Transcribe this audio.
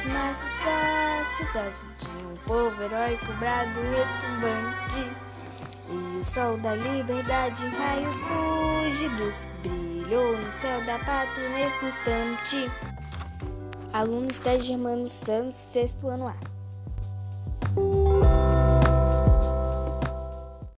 das massas pra cidade de um povo heróico, brado retumbante. E o sol da liberdade em raios fúlgidos brilhou no céu da pátria nesse instante. Aluno Estágio Germano Santos, 6º ano A.